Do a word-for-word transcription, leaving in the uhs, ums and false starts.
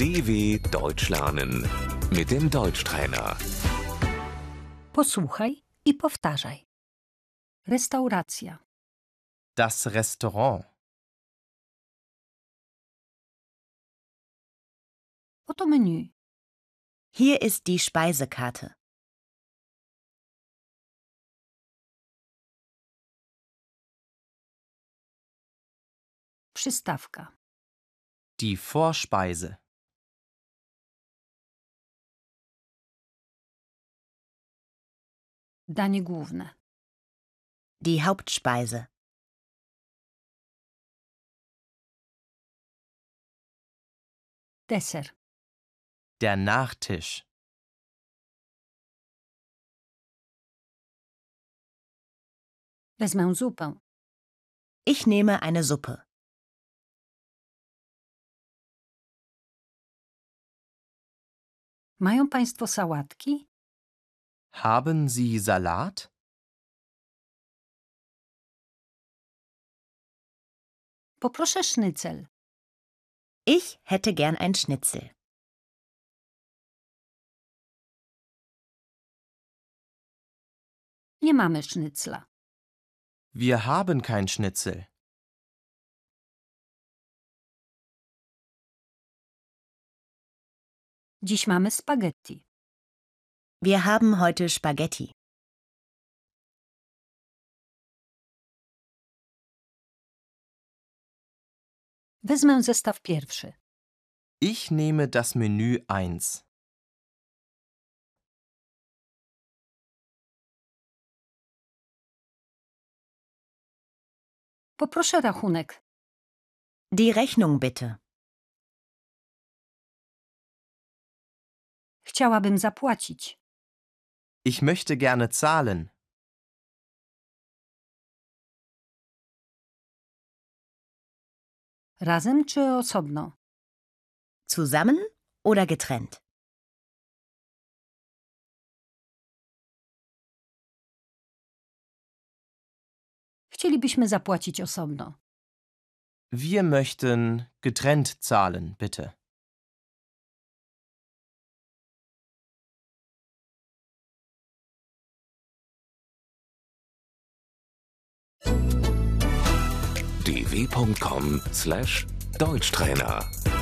D W Deutsch lernen mit dem Deutschtrainer. Posłuchaj i powtarzaj. Restauracja, Das Restaurant. oto menu, Hier ist die Speisekarte. przystawka, Die Vorspeise. danie główne, Die Hauptspeise. deser, Der Nachtisch. wezmę zupę, Ich nehme eine Suppe. mają Państwo sałatki? Haben Sie Salat? Poproszę sznycel, Ich hätte gern ein Schnitzel. nie mamy sznycla. Wir haben kein Schnitzel. Dziś mamy spaghetti. Wir haben heute Spaghetti. Wezmę zestaw pierwszy. Ich nehme das Menü eins. Poproszę rachunek. Die Rechnung bitte. Chciałabym zapłacić. Ich möchte gerne zahlen. Razem czy osobno? Zusammen oder getrennt? Chcielibyśmy zapłacić osobno. Wir möchten getrennt zahlen, bitte. d w punkt com slash Deutschtrainer